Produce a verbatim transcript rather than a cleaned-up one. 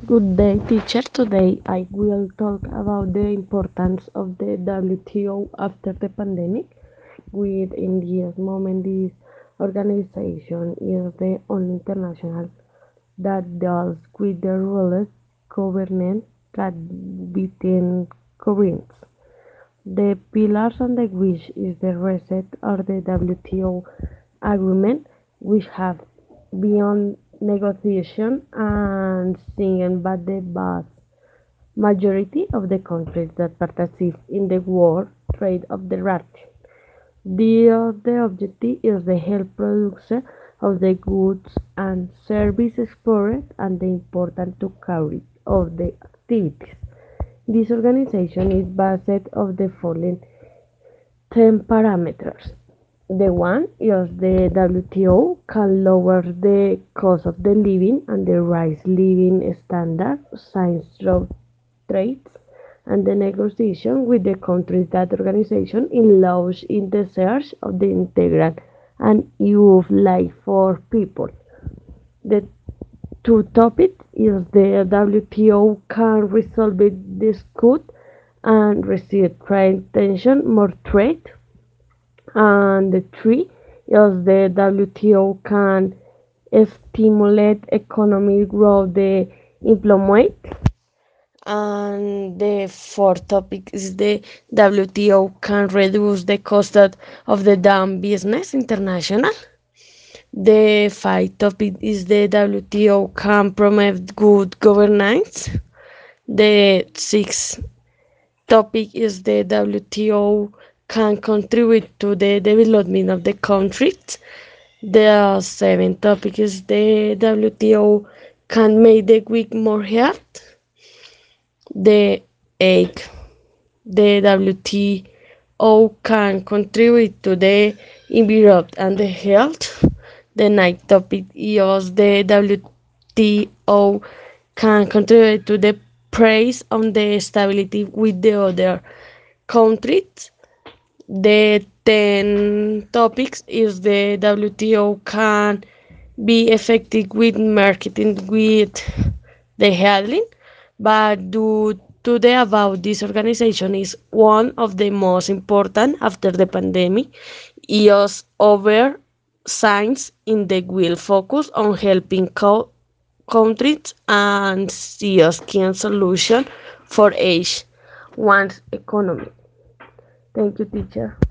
Good day, teacher. Today I will talk about the importance of the W T O after the pandemic. With in this moment, this organization is the only international that deals with the rules governance that between currents. The pillars on the which is the reset or the W T O agreement, which have beyond negotiation and singing but the vast majority of the countries that participate in the world trade of the rat. The, the objective is the health production of the goods and services exported and the important to carry of the activities. This organization is based on the following ten parameters. The one is the W T O can lower the cost of the living and the rise living standard, science through trades, and the negotiation with the countries that organization allows in the search of the integral and youth life for people. The two topics is the W T O can resolve dispute and receive trade tension more trade, and the three is the W T O can stimulate economic growth, the employment, and the fourth topic is the W T O can reduce the cost of of the doing business international. The fifth topic is the W T O can promote good governance. The sixth topic is the W T O can contribute to the development of the countries. The seventh topic is the W T O can make the weak more hard. The eighth, the W T O can contribute to the environment and the health. The ninth topic is the W T O can contribute to the praise on the stability with the other countries. The ten topics is the W T O can be effective with marketing with the handling, but due to the above, this organization is one of the most important after the pandemic. E O S over science in the will focus on helping co- countries and see a skin solution for each one's economy. Thank you, teacher.